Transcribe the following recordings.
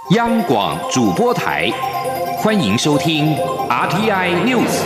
央广主播台，欢迎收听 RTI News。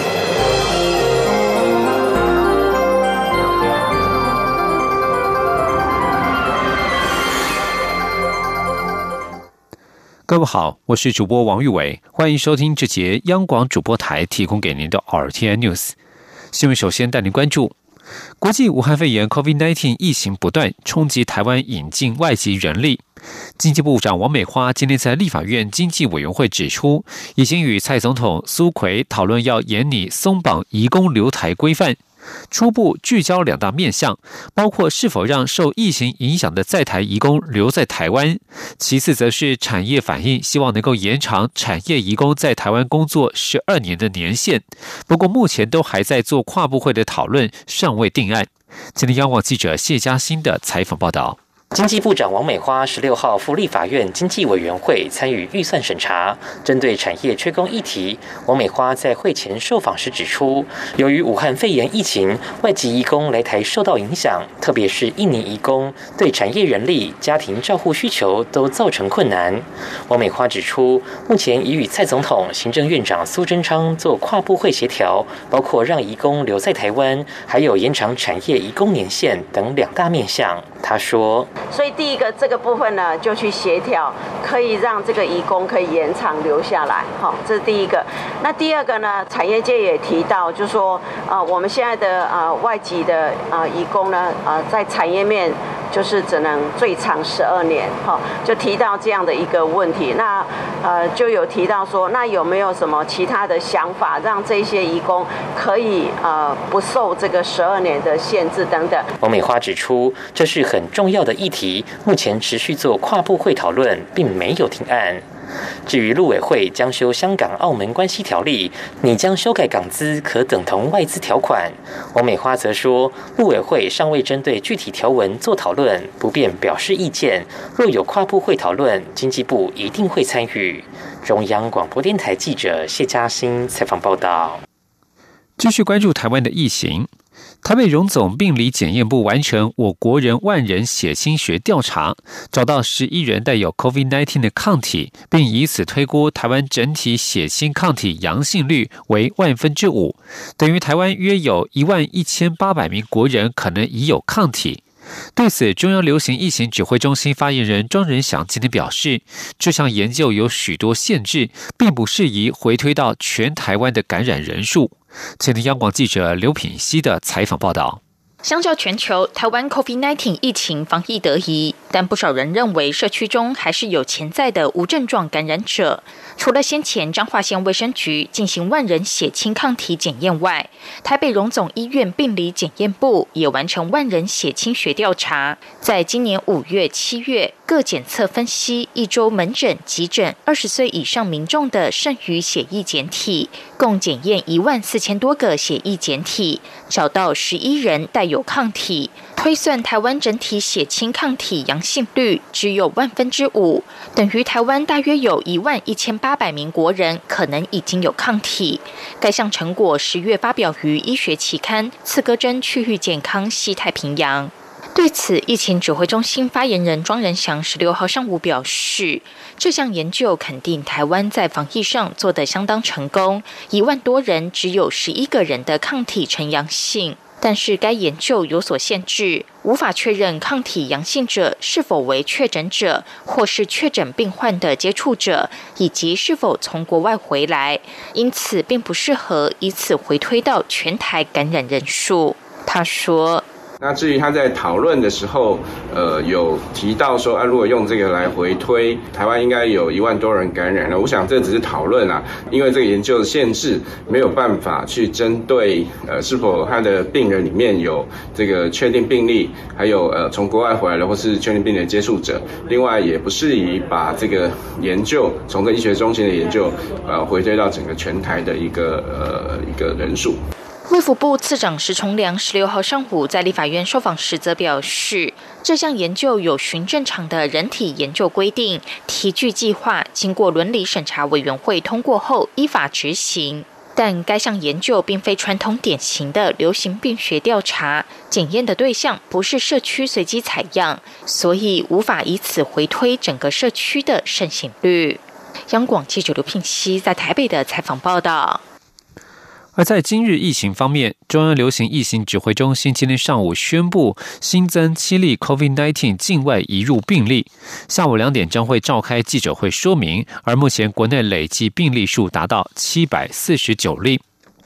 各位好，我是主播王玉伟，欢迎收听这节央广主播台提供给您的 RTI News 新闻。首先带您关注国际武汉肺炎 COVID-19 疫情不断冲击台湾引进外籍人力。经济部长王美花今天在立法院经济委员会指出，已经与蔡总统苏揆讨论要研拟松绑移工留台规范，初步聚焦两大面向，包括是否让受疫情影响的在台移工留在台湾，其次则是产业反应，希望能够延长产业移工在台湾工作12年的年限。不过目前都还在做跨部会的讨论，尚未定案。今天央广记者谢嘉欣的采访报道。 经济部长王美花16号赴立法院经济委员会参与预算审查，针对产业缺工议题，王美花在会前受访时指出，由于武汉肺炎疫情，外籍移工来台受到影响，特别是印尼移工，对产业人力、家庭照护需求都造成困难。王美花指出，目前已与蔡总统、行政院长苏贞昌做跨部会协调，包括让移工留在台湾，还有延长产业移工年限等两大面向。他说， 所以第一个这个部分呢，就去协调，可以让这个移工可以延长留下来，好，这是第一个。那第二个呢，产业界也提到，就是说，我们现在的外籍的移工呢，在产业面就是只能最长12年，好，就提到这样的一个问题。那就有提到说，那有没有什么其他的想法，让这些移工可以不受这个12年的限制等等？ 王美花指出，这是很重要的议题，目前持续做跨部会讨论，并没有定案。至于陆委会将修香港澳门关系条例，拟将修改港资可等同外资条款，王美花则说，陆委会尚未针对具体条文做讨论，不便表示意见，若有跨部会讨论，经济部一定会参与。中央广播电台记者谢嘉欣采访报道。 继续关注台湾的疫情，台北荣总病理检验部完成我国人万人血清学调查，找到11人带有 COVID-19 的抗体，并以此推估台湾整体血清抗体阳性率为5%，等于台湾约有11800名国人可能已有抗体。对此，中央流行疫情指挥中心发言人庄仁祥今天表示，这项研究有许多限制，并不适宜回推到全台湾的感染人数。前天央广记者刘品希的采访报道。 相较全球，台湾 COVID-19 疫情防疫得宜，但不少人认为社区中还是有潜在的无症状感染者。除了先前彰化县卫生局进行万人血清抗体检验外，台北荣总医院病理检验部也完成万人血清学调查，在今年5月、7月各检测分析1周门诊、急诊20岁以上民众的剩余血液检体，共检验14000多个血液检体，找到11人带有抗体，推算台湾整体血清抗体阳性率只有5%，等于台湾大约有11800名国人可能已经有抗体。该项成果10月发表于医学期刊《刺胳针区域健康西太平洋》。对此，疫情指挥中心发言人庄仁祥16号上午表示，这项研究肯定台湾在防疫上做得相当成功，1万多人只有11个人的抗体呈阳性。但是该研究有所限制，无法确认抗体阳性者是否为确诊者，或是确诊病患的接触者，以及是否从国外回来，因此并不适合以此回推到全台感染人数。他说， 那至于他在讨论的时候，有提到说，如果用这个来回推，台湾应该有1万多人感染了。我想这只是讨论啊，因为这个研究的限制，没有办法去针对是否他的病人里面有这个确定病例，还有从国外回来的或是确定病例的接触者。另外，也不适宜把这个研究从这医学中心的研究回推到整个全台的一个人数。 卫福部次长石崇良16号上午在立法院受访时则表示，这项研究有循正常的人体研究规定，题具计划经过伦理审查委员会通过后依法执行。 但该项研究并非传统典型的流行病学调查，检验的对象不是社区随机采样，所以无法以此回推整个社区的盛行率。央广记者刘聘熙在台北的采访报道。 而在今日疫情方面，中央流行疫情指挥中心今天上午宣布新增7例 COVID-19 境外移入病例，下午2点将会召开记者会说明，而目前国内累计病例数达到749例。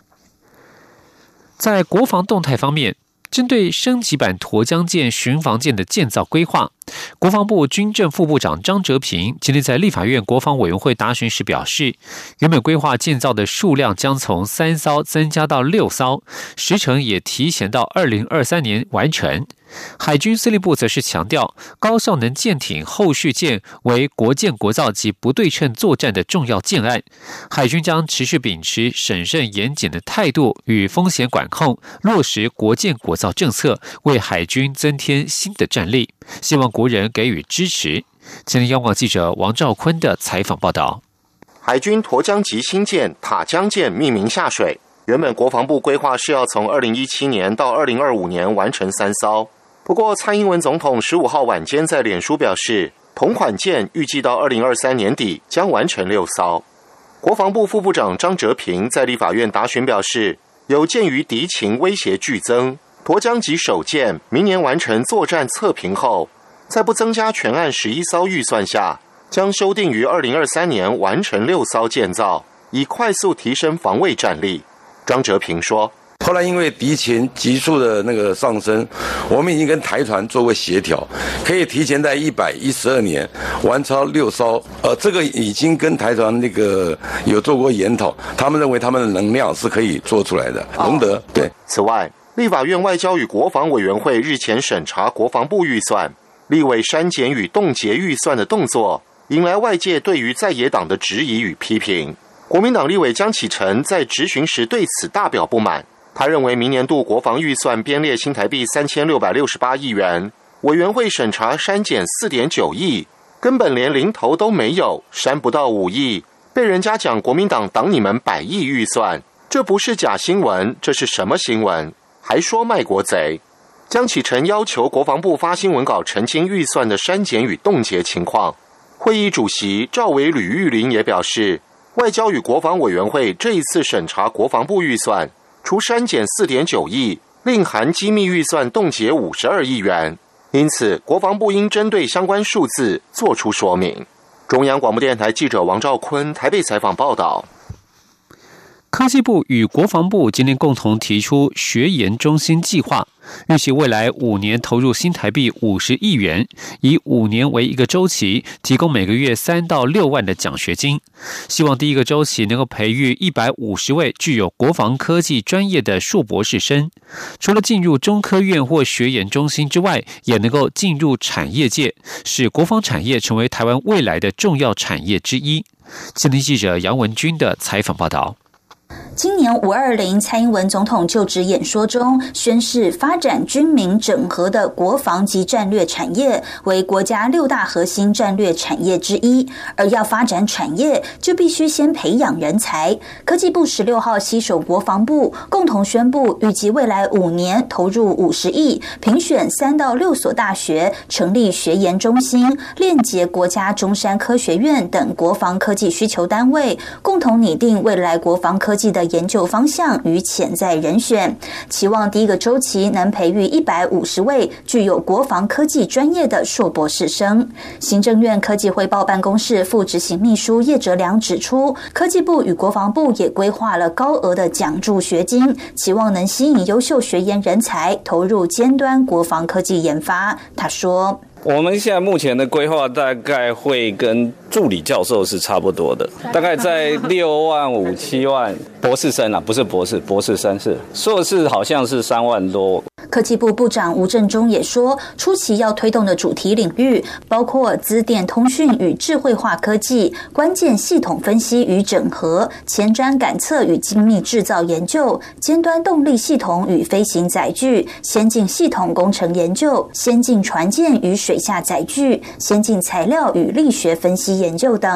在国防动态方面，针对升级版沱江舰巡防舰的建造规划，国防部军政副部长张哲平今天在立法院国防委员会答询时表示，原本规划建造的数量将从3艘增加到6艘，时程也提前到2023年完成。海军司令部则是强调，高效能舰艇后续舰为国建国造及不对称作战的重要建案，海军将持续秉持审慎严谨的态度与风险管控，落实国建国造政策，为海军增添新的战力，希望国人给予支持。今天央广记者王兆坤的采访报道。 海军沱江级新舰塔江舰命名下水，原本国防部规划是要从2017年到2025年完成3艘。不过，蔡英文总统15号晚间在脸书表示，同款舰预计到2023年底将完成6艘。国防部副部长张哲平在立法院答询表示，有鉴于敌情威胁剧增，沱江级首舰明年完成作战测评后，在不增加全案11艘预算下，将修订于2023年完成6艘建造，以快速提升防卫战力。张哲平说， 后来因为敌情急速的上升，我们已经跟台团做过协调，可以提前在112年完成6艘。这个已经跟台团有做过研讨，他们认为他们的能量是可以做出来的，能得。对。 此外，立法院外交与国防委员会日前审查国防部预算，立委删减与冻结预算的动作，引来外界对于在野党的质疑与批评。国民党立委江启臣在质询时对此大表不满。他认为明年度国防预算编列新台币3668亿元，委员会审查删减4.9亿，根本连零头都没有，删不到5亿，被人家讲国民党挡你们100亿预算，这不是假新闻，这是什么新闻？还说卖国贼。江启臣要求国防部发新闻稿澄清预算的删减与冻结情况。会议主席赵委吕玉玲也表示，外交与国防委员会这一次审查国防部预算，除删减4.9亿，另含机密预算冻结52亿元，因此国防部应针对相关数字做出说明。中央广播电台记者王兆坤台北采访报道。 科技部与国防部今天共同提出学研中心计划，预期未来5年投入新台币50亿元，以5年为一个周期，提供每个月3到6万的奖学金。希望第一个周期能够培育150位具有国防科技专业的硕博士生，除了进入中科院或学研中心之外，也能够进入产业界，使国防产业成为台湾未来的重要产业之一。今天记者杨文君的采访报道。 今年520蔡英文总统就职演说中宣示，发展军民整合的国防及战略产业为国家6大核心战略产业之一，而要发展产业，就必须先培养人才。科技部16号携手国防部共同宣布，预计未来5年投入50亿，评选3到6所大学，成立学研中心，链接国家中山科学院等国防科技需求单位，共同拟定未来国防科技的研究方向与潜在人选，期望第一个周期能培育150位具有国防科技专业的硕博士生。行政院科技汇报办公室副执行秘书叶哲良指出，科技部与国防部也规划了高额的奖助学金，期望能吸引优秀学研人才投入尖端国防科技研发。他说， 我们现在目前的规划大概会跟助理教授是差不多的，大概在6万5、7万，博士生啊，不是博士，博士生是，硕士好像是3万多。 科技部部长吴振中也说，初期要推动的主题领域包括资电通讯与智慧化科技、关键系统分析与整合、前瞻感测与精密制造研究、尖端动力系统与飞行载具、先进系统工程研究、先进船舰与水下载具、先进材料与力学分析研究等。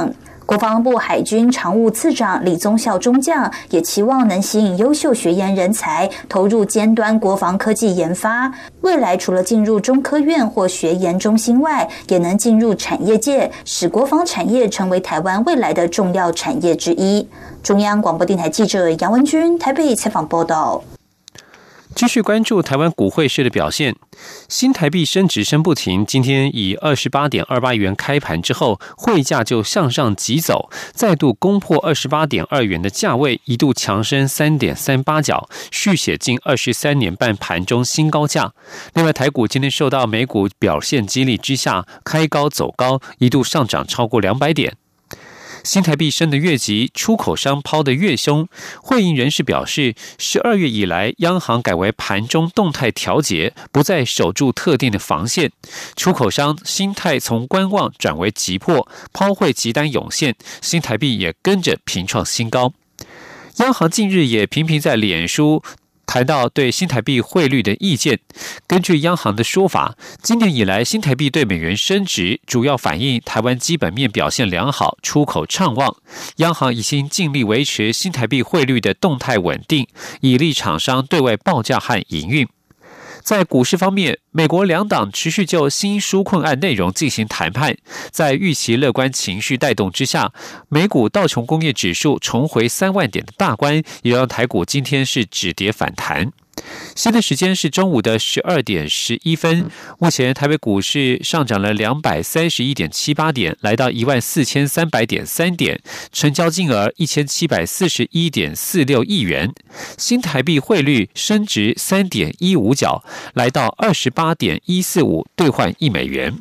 国防部海军常务次长李宗孝中将也期望能吸引优秀学研人才投入尖端国防科技研发，未来除了进入中科院或学研中心外，也能进入产业界，使国防产业成为台湾未来的重要产业之一。中央广播电台记者杨文君台北采访报道。 继续关注台湾股汇市的表现，新台币升值升不停，今天以28.28元开盘之后，汇价就向上急走，再度攻破28.2元的价位，一度强升3.38角，续写近23年半盘中新高价。另外，台股今天受到美股表现激励之下，开高走高，一度上涨超过200点。新台币升得越急，出口商抛得越凶。汇银人士表示，12月以来，央行改为盘中动态调节，不再守住特定的防线。出口商心态从观望转为急迫，抛汇急单涌现，新台币也跟着频创新高。央行近日也频频在脸书谈到对新台币汇率的意见。根据央行的说法，今年以来新台币对美元升值，主要反映台湾基本面表现良好，出口畅旺。央行已经尽力维持新台币汇率的动态稳定，以利厂商对外报价和营运。在股市方面，美国两党持续就新纾困案内容进行谈判，在预期乐观情绪带动之下，美股道琼工业指数重回3万点的大关，也让台股今天是止跌反弹。现在时间是中午的12点11分，目前台北股市上涨了231.78点，来到14300.3点，成交金额1741.46亿元，新台币汇率升值3.15角，来到28.145兑换1美元。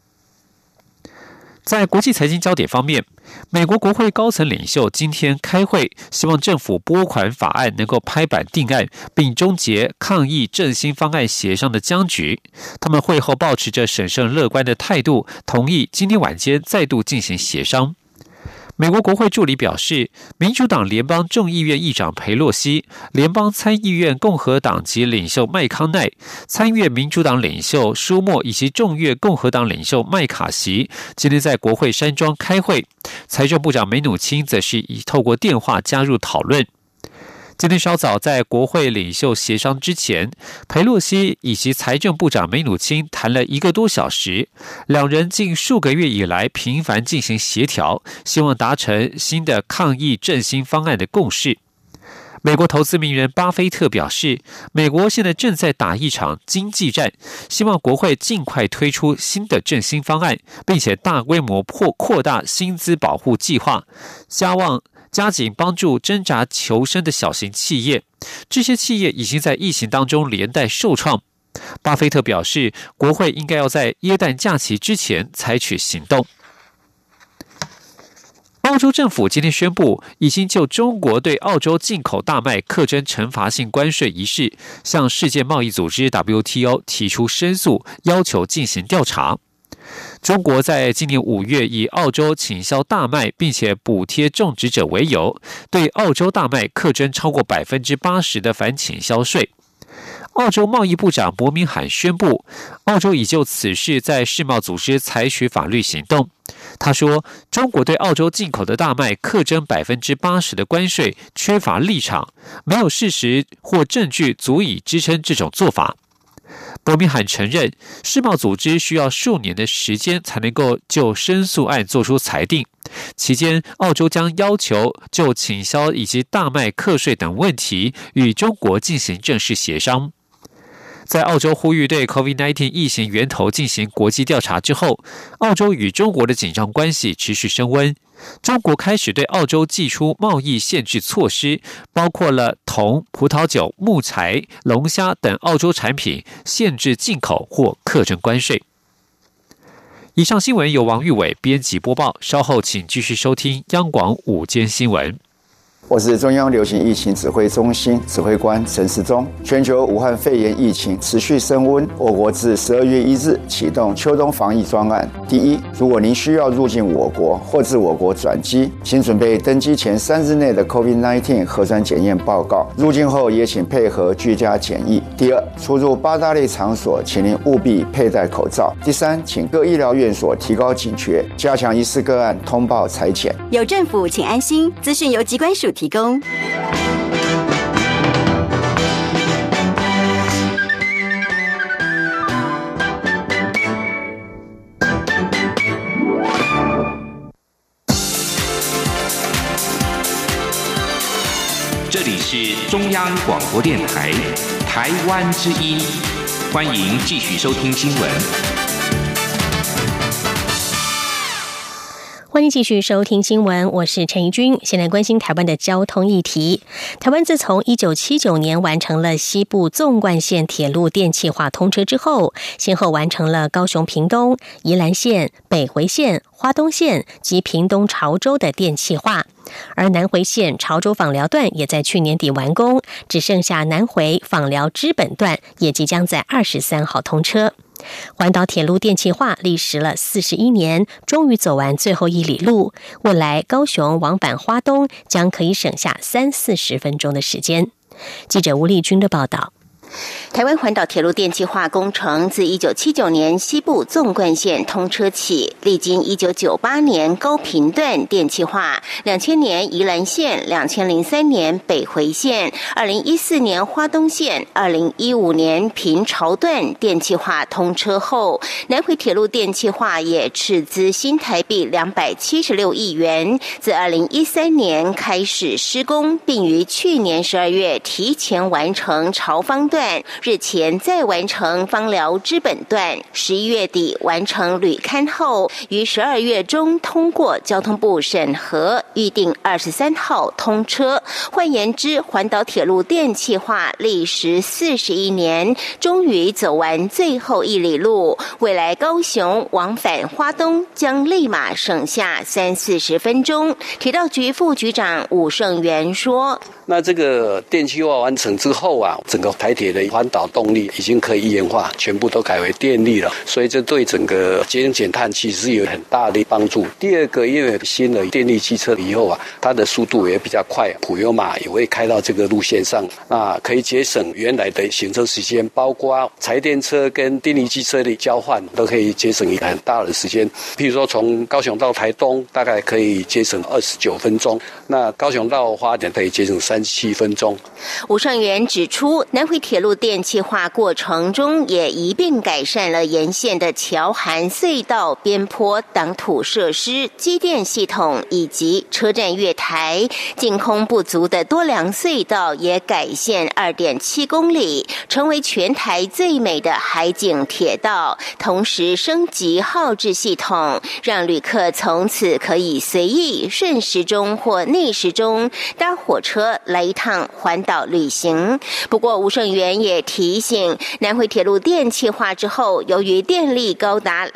在国际财经焦点方面，美国国会高层领袖今天开会，希望政府拨款法案能够拍板定案，并终结抗疫振兴方案协商的僵局。他们会后抱持着审慎乐观的态度，同意今天晚间再度进行协商。美国国会助理表示，民主党联邦众议院议长裴洛西、联邦参议院共和党籍领袖麦康奈、参院民主党领袖舒默以及众院共和党领袖麦卡锡今天在国会山庄开会，财政部长梅努钦则是已透过电话加入讨论。今天稍早，在国会领袖协商之前，裴洛西以及财政部长梅努钦谈了1个多小时，两人近数个月以来频繁进行协调，希望达成新的抗疫振兴方案的共识。美国投资名人巴菲特表示，美国现在正在打一场经济战，希望国会尽快推出新的振兴方案，并且大规模扩大薪资保护计划，加紧帮助挣扎求生的小型企业，这些企业已经在疫情当中连带受创。巴菲特表示，国会应该要在耶诞假期之前采取行动。澳洲政府今天宣布，已经就中国对澳洲进口大麦课征惩罚性关税一事，向世界贸易组织 WTO 提出申诉，要求进行调查。中国在今年5月以澳洲倾销大麦并且补贴种植者为由，对澳洲大麦课征超过 80% 的反倾销税。澳洲贸易部长伯明罕宣布，澳洲已就此事在世贸组织采取法律行动。他说，中国对澳洲进口的大麦课征 80% 的关税缺乏立场，没有事实或证据足以支撑这种做法。伯明罕承认，世贸组织需要数年的时间才能够就申诉案做出裁定，期间澳洲将要求就倾销以及大麦课税等问题与中国进行正式协商。在澳洲呼吁对 COVID-19 疫情源头进行国际调查之后，澳洲与中国的紧张关系持续升温。中国开始对澳洲祭出贸易限制措施，包括了铜、葡萄酒、木材、龙虾等澳洲产品限制进口或课征关税。以上新闻由王玉伟编辑播报，稍后请继续收听央广午间新闻。 我是中央流行疫情指挥中心指挥官陈时中。全球武汉肺炎疫情持续升温，我国自12月1日启动秋冬防疫专案。第一，如果您需要入境我国或自我国转机，请准备登机前3日内的 COVID-19 核酸检验报告，入境后也请配合居家检疫。第二，出入8大类场所，请您务必佩戴口罩。第三，请各医疗院所提高警觉，加强疑似个案通报采检。 有政府，请安心。资讯由疾管署提供。 这里是中央广播电台台湾之音，欢迎继续收听新闻。 欢迎继续收听新闻，我是陈怡君。先来关心台湾的交通议题。台湾自从1979年完成了西部纵贯线铁路电气化通车之后，先后完成了高雄屏东、宜兰县、北回线、花东线及屏东潮州的电气化。而南回线潮州枋寮段也在去年底完工，只剩下南回枋寮知本段也即将在23号通车。环岛铁路电气化历时了41年，终于走完最后1里路。未来高雄往返花东将可以省下30-40分钟的时间。记者吴丽君的报道。 台湾环岛铁路电气化工程自1979年西部纵贯线通车起，历经1998年高屏段电气化，2000年宜兰线，2003年北回线，2014年花东线，2015年屏潮段电气化通车后，南回铁路电气化也斥资新台币276亿元，自2013年开始施工，并于去年12月提前完成潮枋段，日前再完成枋寮知本段，11月底完成履勘后，于12月中通过交通部审核，预定23号通车。换言之，环岛铁路电气化历时41年，终于走完最后1里路。未来高雄往返花东将立马省下30-40分钟。铁道局副局长伍胜元说：“ 那这个电气化完成之后啊，整个台铁的环岛动力已经可以一元化，全部都改为电力了，所以这对整个节能减碳其实有很大的帮助。第二个，因为新的电力汽车以后啊，它的速度也比较快，普悠玛也会开到这个路线上，那可以节省原来的行车时间，包括柴电车跟电力汽车的交换都可以节省一个很大的时间。譬如说从高雄到台东大概可以节省29分钟，那高雄到花莲可以节省37分钟。” 伍胜元指出，南回铁路电气化过程中也一并改善了沿线的桥涵、隧道、边坡、挡土设施、机电系统以及车站月台。净空不足的多良隧道也改线2.7公里，成为全台最美的海景铁道。同时升级号志系统，让旅客从此可以随意顺时钟或逆时钟搭火车来一趟环岛旅行。不过吴胜元也提醒，南回铁路电气化之后，由于电力高达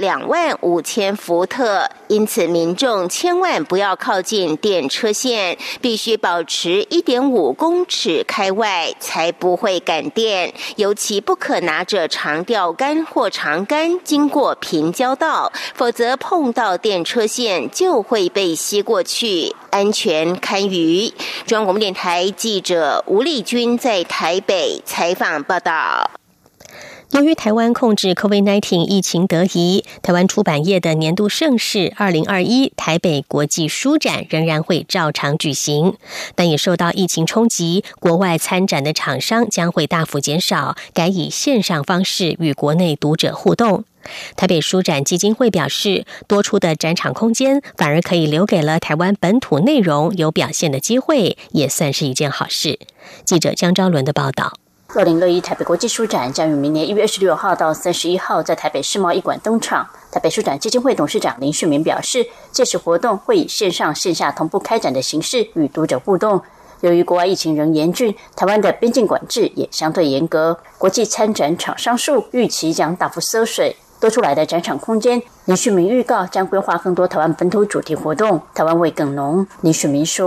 25000伏特，因此民众千万不要靠近电车线，必须保持1.5公尺开外，才不会感电。尤其不可拿着长钓竿或长竿经过平交道，否则碰到电车线就会被吸过去，安全堪虞。中央广播电台记者吴丽君在台北采访报道。 由于台湾控制 COVID-19 疫情得宜，台湾出版业的年度盛事2021台北国际书展仍然会照常举行，但也受到疫情冲击，国外参展的厂商将会大幅减少，改以线上方式与国内读者互动。台北书展基金会表示，多出的展场空间反而可以留给了台湾本土内容有表现的机会，也算是一件好事。记者江昭伦的报道。 2021台北国际书展将于明年1月26号到31号在台北世贸一馆登场。台北书展基金会董事长林旭明表示，届时活动会以线上线下同步开展的形式与读者互动。由于国外疫情仍严峻，台湾的边境管制也相对严格，国际参展厂商数预期将大幅缩水。多出来的展场空间，林旭明预告将规划更多台湾本土主题活动，台湾味更浓。林旭明说，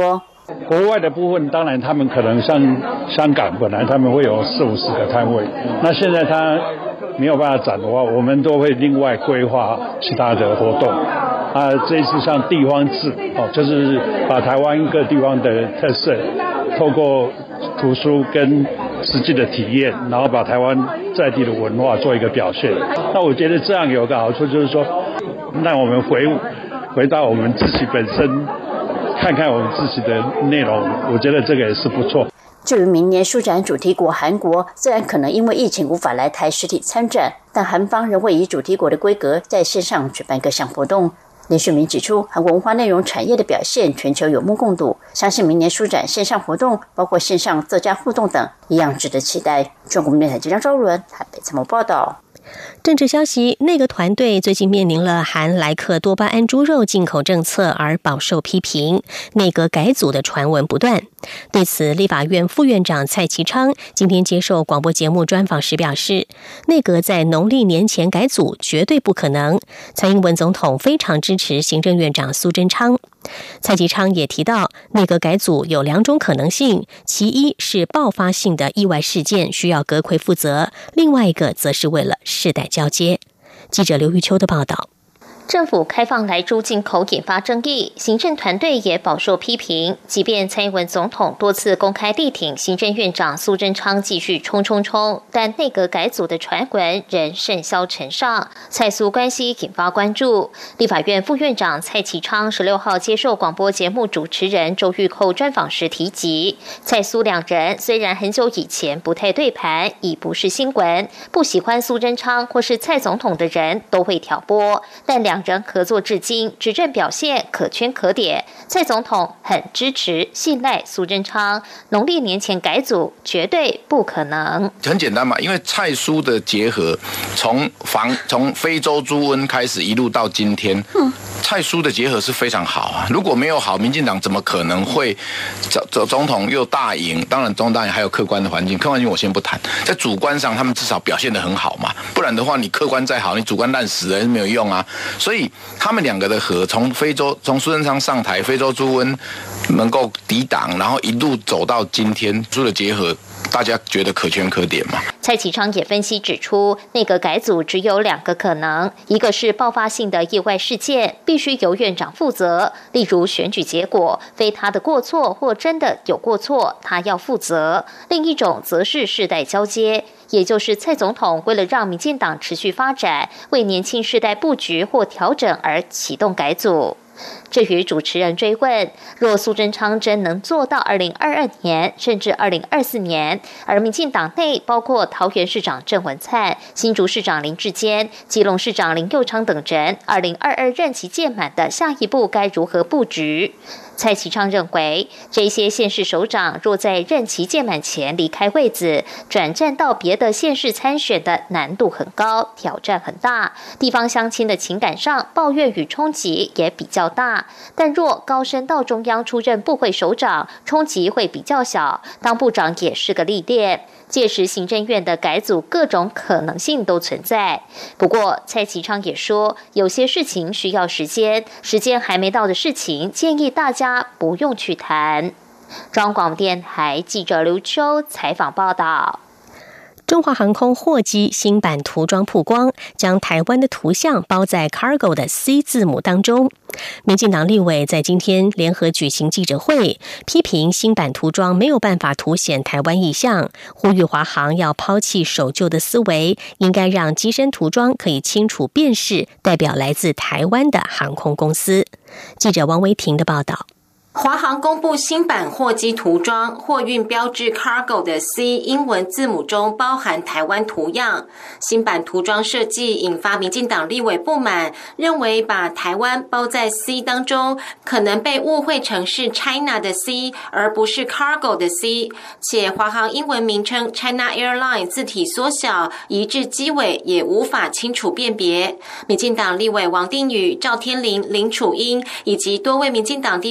国外的部分，当然他们可能像香港，本来他们会有40-50个摊位，那现在他没有办法展的话，我们都会另外规划其他的活动。这一次像地方志就是把台湾各地方的特色，透过图书跟实际的体验，然后把台湾在地的文化做一个表现。那我觉得这样有个好处，就是说，让我们回到我们自己本身，看看我们自己的内容，我觉得这个也是不错。 至于明年书展主题国韩国，虽然可能因为疫情无法来台实体参展，但韩方仍会以主题国的规格在线上举办各项活动。林旭明指出，韩国文化内容产业的表现全球有目共睹，相信明年书展线上活动，包括线上作家互动等，一样值得期待。中国电台记者张昭伦台北采访报道。 政治消息，内阁团队最近面临了含莱克多巴胺猪肉进口政策而饱受批评，内阁改组的传闻不断。对此，立法院副院长蔡其昌今天接受广播节目专访时表示，内阁在农历年前改组绝对不可能。蔡英文总统非常支持行政院长苏贞昌。蔡其昌也提到，内阁改组有2种可能性，其一是爆发性的意外事件需要阁揆负责，另外一个则是为了世代交接。记者刘玉秋的报道。 政府开放莱猪进口引发争议，行政团队也饱受批评。即便蔡英文总统多次公开力挺行政院长苏贞昌继续冲，但内阁改组的传闻仍甚嚣尘上，蔡苏关系引发关注。立法院副院长蔡其昌16号接受广播节目主持人周玉蔻专访时提及，蔡苏两人虽然很久以前不太对盘，已不是新闻，不喜欢苏贞昌或是蔡总统的人都会挑拨，但两人合作至今，执政表现可圈可点。蔡总统很支持、信赖苏贞昌，农历年前改组绝对不可能。 很简单嘛，因为蔡苏的结合，从非洲猪瘟开始一路到今天，蔡苏的结合是非常好啊。如果没有好，民进党怎么可能会总统又大赢？当然，总统还有客观的环境，客观环境我先不谈，在主观上他们至少表现得很好嘛，不然的话，你客观再好，你主观烂死了是没有用啊。所以他们两个的和，从苏贞昌上台，非洲猪瘟能够抵挡，然后一路走到今天，猪的结合，大家觉得可圈可点吗？ 蔡其昌也分析指出，内阁改组只有2个可能，一个是爆发性的意外事件，必须由院长负责，例如选举结果非他的过错或真的有过错，他要负责；另一种则是世代交接，也就是蔡总统为了让民进党持续发展，为年轻世代布局或调整而启动改组。至于主持人追问，若苏贞昌真能做到2022年甚至2024年，而民进党内包括桃园市长郑文灿、新竹市长林智坚、基隆市长林右昌等人2022任期届满的下一步该如何布局？蔡其昌认为，这些县市首长若在任期届满前离开位子，转战到别的县市参选的难度很高，挑战很大，地方乡亲的情感上抱怨与冲击也比较大。但若高升到中央出任部会首长，冲击会比较小，当部长也是个历练。届时行政院的改组各种可能性都存在。不过蔡其昌也说，有些事情需要时间还没到的事情，建议大家不用去谈。中央广播电台记者刘秋采访报道。 中华航空货机新版涂装曝光，将台湾的图像包在 Cargo 的 C 字母当中。民进党立委在今天联合举行记者会，批评新版涂装没有办法凸显台湾意象，呼吁华航要抛弃守旧的思维，应该让机身涂装可以清楚辨识代表来自台湾的航空公司。记者王维婷的报道。 华航公布新版货机涂装，货运标志 Cargo 的 C 英文字母中包含台湾图样。新版涂装设计引发民进党立委不满，认为把台湾包在 C 当中，可能被误会成是 China 的 C， 而不是 Cargo 的 C。且华航英文名称 China Airline 字体缩小，移至机尾也无法清楚辨别。民进党立委王定宇、赵天麟、林楚英以及多位民进党地方市议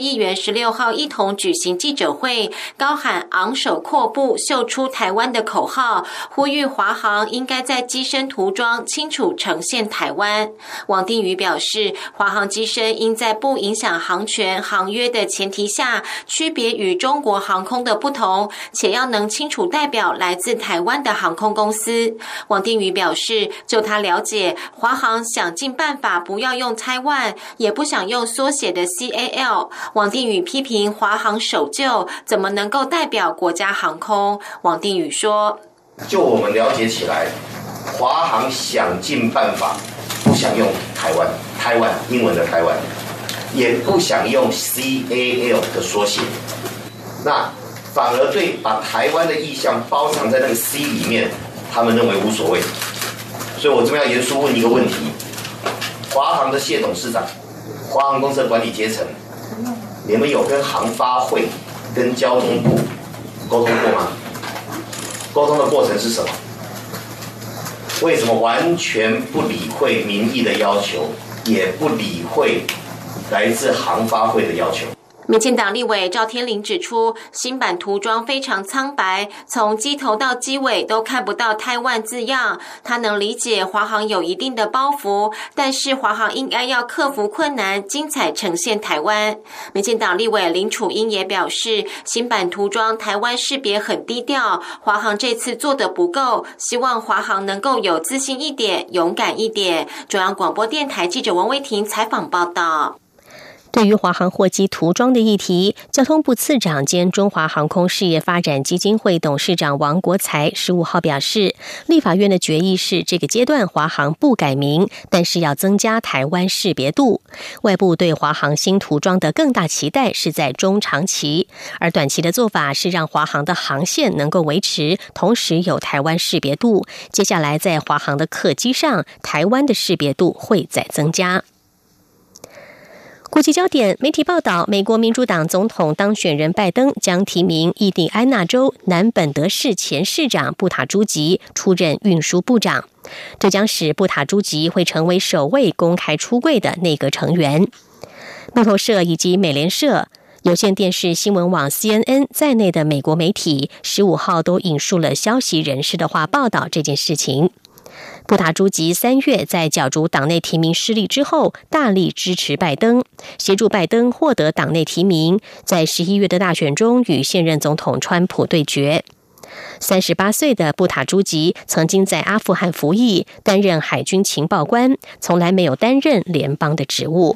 议员16号一同举行记者会，高喊昂首阔步秀出台湾的口号，呼吁华航应该在机身涂装清楚呈现台湾。王定宇表示，华航机身应在不影响航权航约的前提下，区别与中国航空的不同，且要能清楚代表来自台湾的航空公司。王定宇表示，就他了解，华航想尽办法不要用Taiwan，也不想用缩写的 CAL。王定宇批评华航守旧，怎么能够代表国家航空？王定宇说：“ 就我们了解起来，华航想尽办法不想用台湾英文的台湾，也不想用 CAL 的缩写，那反而对把台湾的意象包藏在那个 C 里面，他们认为无所谓。所以我这边要严肃问一个问题。”华航的谢董事长，华航公司的管理阶层，你们有跟航发会、跟交通部沟通过吗？沟通的过程是什么？为什么完全不理会民意的要求，也不理会来自航发会的要求？ 民进党立委赵天麟指出，新版涂装非常苍白，从机头到机尾都看不到台湾字样。他能理解华航有一定的包袱，但是华航应该要克服困难，精彩呈现台湾。民进党立委林楚英也表示，新版涂装台湾识别很低调，华航这次做得不够，希望华航能够有自信一点，勇敢一点。中央广播电台记者王威婷采访报道。 对于华航货机涂装的议题，交通部次长兼中华航空事业发展基金会董事长王国材15号表示，立法院的决议是这个阶段华航不改名，但是要增加台湾识别度。外部对华航新涂装的更大期待是在中长期，而短期的做法是让华航的航线能够维持，同时有台湾识别度。接下来在华航的客机上，台湾的识别度会再增加。国际焦点，媒体报道，美国民主党总统当选人拜登将提名印第安纳州南本德市前市长布塔朱吉出任运输部长，这将使布塔朱吉会成为首位公开出柜的内阁成员。路透社以及美联社、有线电视新闻网 CNN 在内的美国媒体15号都引述了消息人士的话报道这件事情。布塔朱吉3月在角逐党内提名失利之后，大力支持拜登，协助拜登获得党内提名，在11月的大选中与现任总统川普对决。38岁的布塔朱吉曾经在阿富汗服役，担任海军情报官，从来没有担任联邦的职务。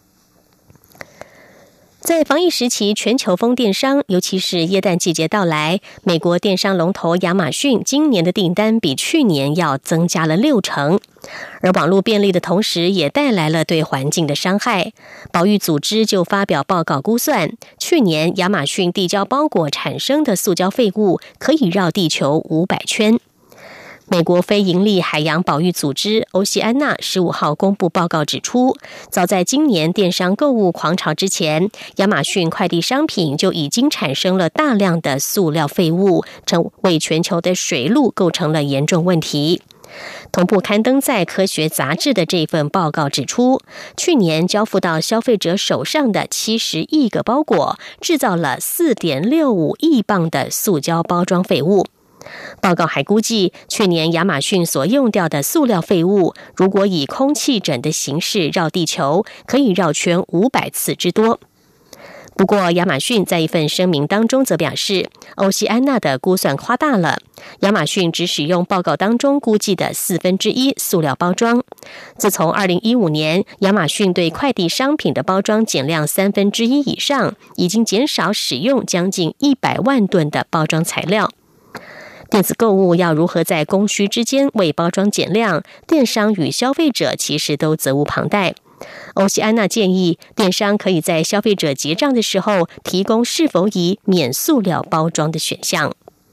在防疫时期，全球疯电商，尤其是耶诞季节到来，美国电商龙头亚马逊今年的订单比去年要增加了60%。而网络便利的同时，也带来了对环境的伤害。保育组织就发表报告估算，去年亚马逊递交包裹产生的塑胶废物可以绕地球500圈。美国非营利海洋保育组织欧西安娜15号公布报告指出，早在今年电商购物狂潮之前，亚马逊快递商品就已经产生了大量的塑料废物，为全球的水路构成了严重问题。同步刊登在科学杂志的这份报告指出，去年交付到消费者手上的70亿个包裹，制造了4.65亿磅的塑胶包装废物。报告还估计，去年亚马逊所用掉的塑料废物，如果以空气枕的形式绕地球，可以绕圈500次之多。不过，亚马逊在一份声明当中则表示，欧西安娜的估算夸大了，亚马逊只使用报告当中估计的1/4塑料包装。自从2015年，亚马逊对快递商品的包装减量1/3以上，已经减少使用将近100万吨的包装材料。电子购物要如何在供需之间为包装减量，电商与消费者其实都责无旁贷。欧西安娜建议，电商可以在消费者结账的时候提供是否以免塑料包装的选项。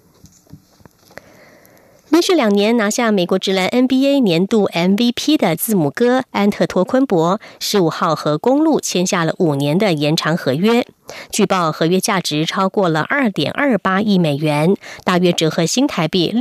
连续2年拿下美国职篮 NBA 年度 MVP 的字母哥安特托昆博15号和公鹿签下了5年的延长合约，据报合约价值超过了 2.28 亿美元，大约折合新台币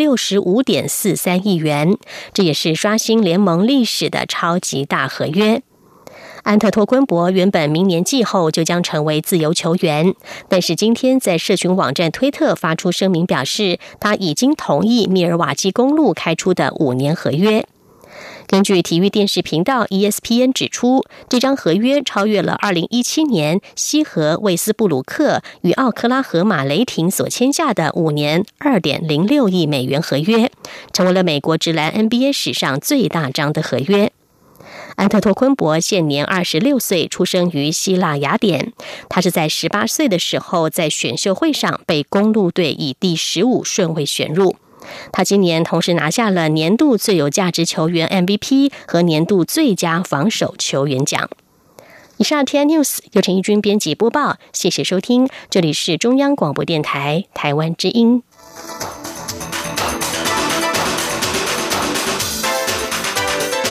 65.43 亿元，这也是刷新联盟历史的超级大合约。 安特托昆博原本明年季后就将成为自由球员，但是今天在社群网站推特发出声明表示，他已经同意密尔瓦基公鹿开出的5年合约。根据体育电视频道 ESPN 指出，这张合约超越了2017年西河魏斯布鲁克与奥克拉荷马雷霆所签下的5年2.06亿美元合约，成为了美国职篮 NBA 史上最大张的合约。安特托昆博现年26岁，出生于希腊雅典。他是在18岁的时候在选秀会上被公鹿队以第15顺位选入。他今年同时拿下了年度最有价值球员 MVP 和年度最佳防守球员奖。以上 TI News 由陈怡君编辑播报，谢谢收听，这里是中央广播电台台湾之音。